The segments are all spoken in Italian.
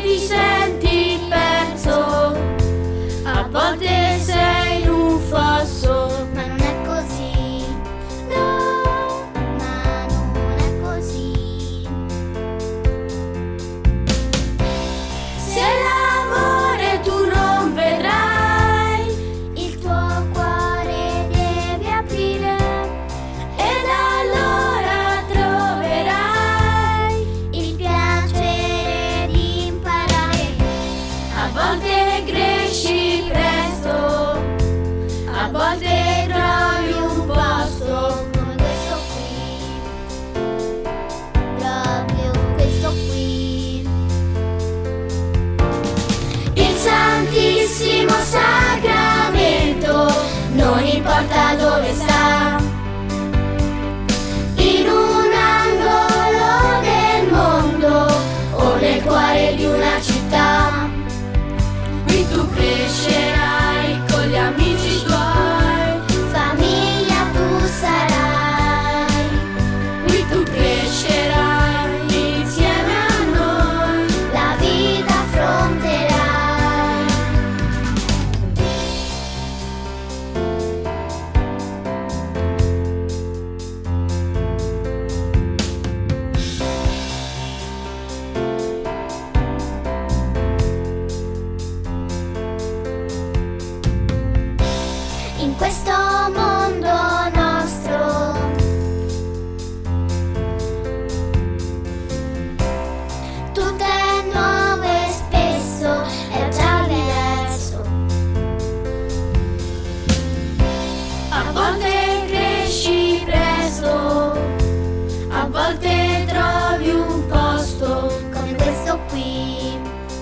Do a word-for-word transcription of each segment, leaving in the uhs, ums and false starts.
ti senti perso, a volte sei in un fosso, Ma non è così, no, ma non è così. se l'amore tu non vedrai, Il tuo cuore devi aprire, ed allora troverai il piacere di imparare. a volte cresci presto, a volte trovi un posto, Come questo qui, proprio questo qui. il Santissimo Sacramento, non importa dove sta, in un angolo del mondo o nel cuore di una città. Qui tu crescerai con gli amici tuoi, Famiglia tu sarai, qui tu crescerai insieme a noi. la vita affronterai. In questo mondo nostro tutto è nuovo e spesso è già diverso. A volte cresci presto, a volte trovi un posto, Come questo qui,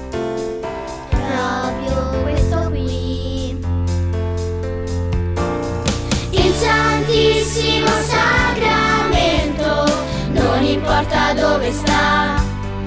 proprio questo qui. il Santissimo Sacramento, non importa dove sta,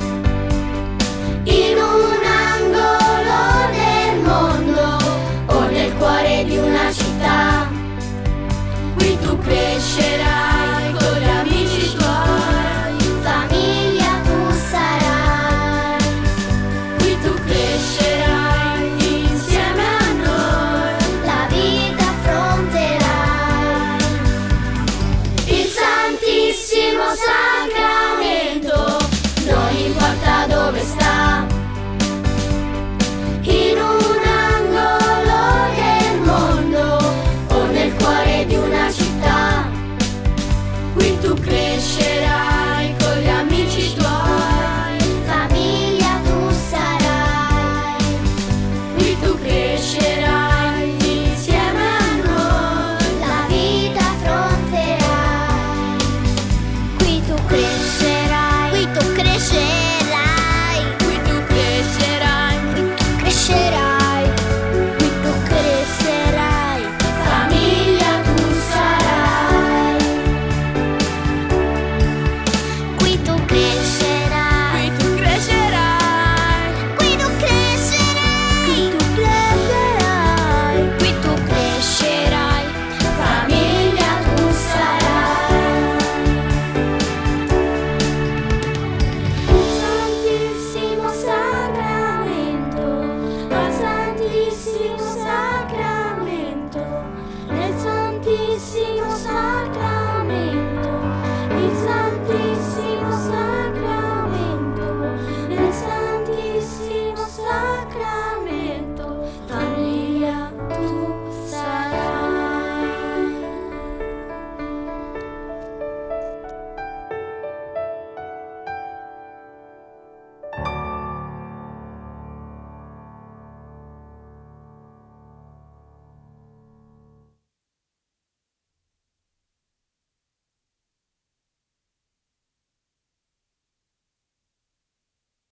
in un angolo del mondo o nel cuore di una città. Qui tu crescerai con gli amici tuoi, Famiglia tu sarai, qui tu crescerai insieme a noi. la vita affronterai. Il Santissimo Sacramento, non importa dove sta, in un angolo del mondo o nel cuore di una città. Qui tu crescerai